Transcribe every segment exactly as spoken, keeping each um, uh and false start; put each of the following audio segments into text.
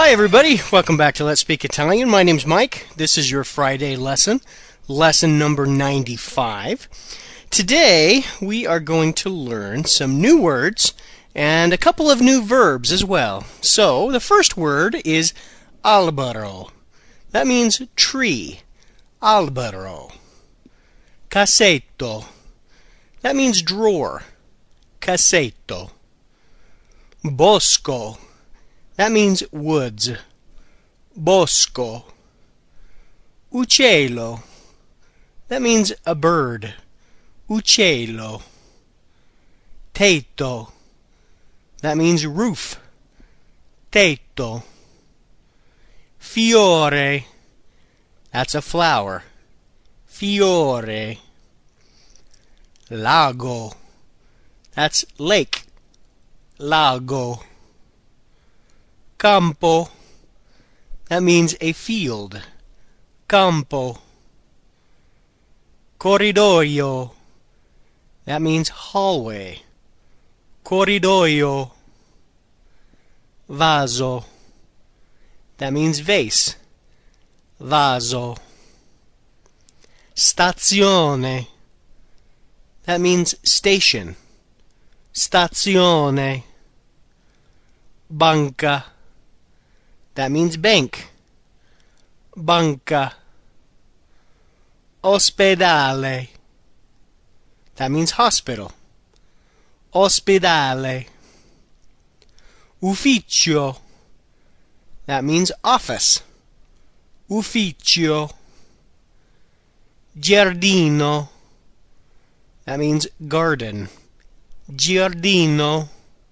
Hi everybody, welcome back to Let's Speak Italian. My name's Mike. This is your Friday lesson, lesson number ninety-five. Today we are going to learn some new words and a couple of new verbs as well. So the first word is albero. That means tree. Albero. Cassetto. That means drawer. Cassetto. Bosco. That means woods. Bosco. Uccello. That means a bird. Uccello. Tetto. That means roof. Tetto. Fiore. That's a flower. Fiore. Lago. That's lake. Lago. Campo. That means a field. Campo. Corridoio. That means hallway. Corridoio. Vaso. That means vase. Vaso. Stazione. That means station. Stazione. Banca. That means bank. Banca. Ospedale. That means hospital. Ospedale. Ufficio. That means office. Ufficio. Giardino. That means garden. Giardino.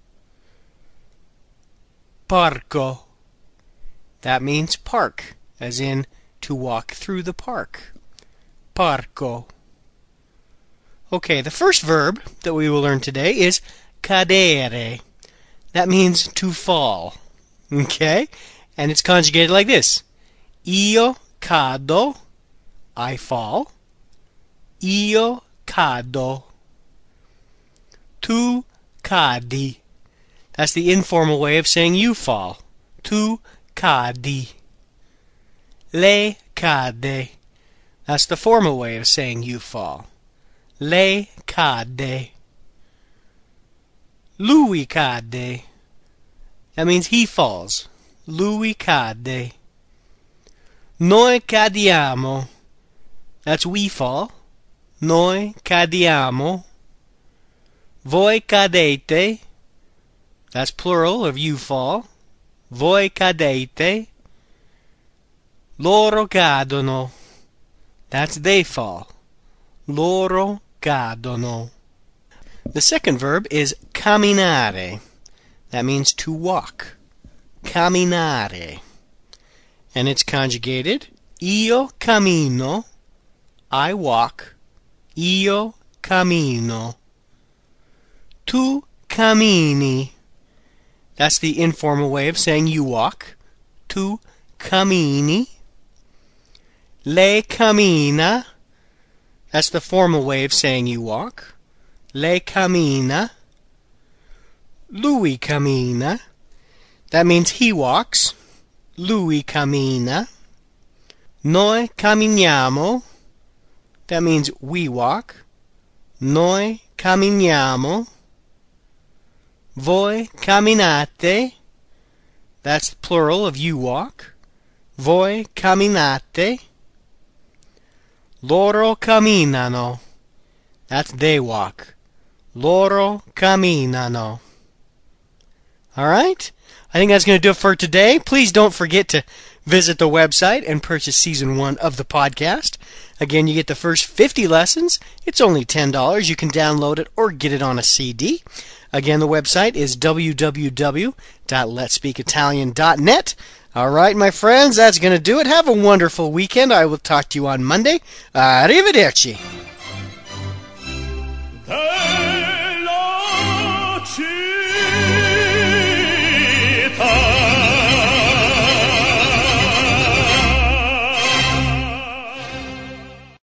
Parco. That means park, as in to walk through the park. Parco. Okay, the first verb that we will learn today is cadere. That means to fall. Okay? And it's conjugated like this. Io cado. I fall. Io cado. Tu cadi. That's the informal way of saying you fall. Tu cadi. Lei cade. That's the formal way of saying you fall. Lei cade. Lui cade. That means he falls. Lui cade. Noi cadiamo. That's we fall. Noi cadiamo. Voi cadete. That's plural of you fall. Voi cadete. Loro cadono. That's they fall. Loro cadono. The second verb is camminare. That means to walk. Camminare. And it's conjugated. Io cammino. I walk. Io cammino. Tu cammini. That's the informal way of saying you walk. Tu cammini. Lei cammina. That's the formal way of saying you walk. Lei cammina. Lui cammina. That means he walks. Lui cammina. Noi camminiamo. That means we walk. Noi camminiamo. Voi camminate. That's the plural of you walk. Voi camminate. Loro camminano. That's they walk. Loro camminano. All right? I think that's going to do it for today. Please don't forget to visit the website and purchase Season one of the podcast. Again, you get the first fifty lessons. It's only ten dollars. You can download it or get it on a C D. Again, the website is w w w dot lets speak italian dot net. All right, my friends, that's going to do it. Have a wonderful weekend. I will talk to you on Monday. Arrivederci.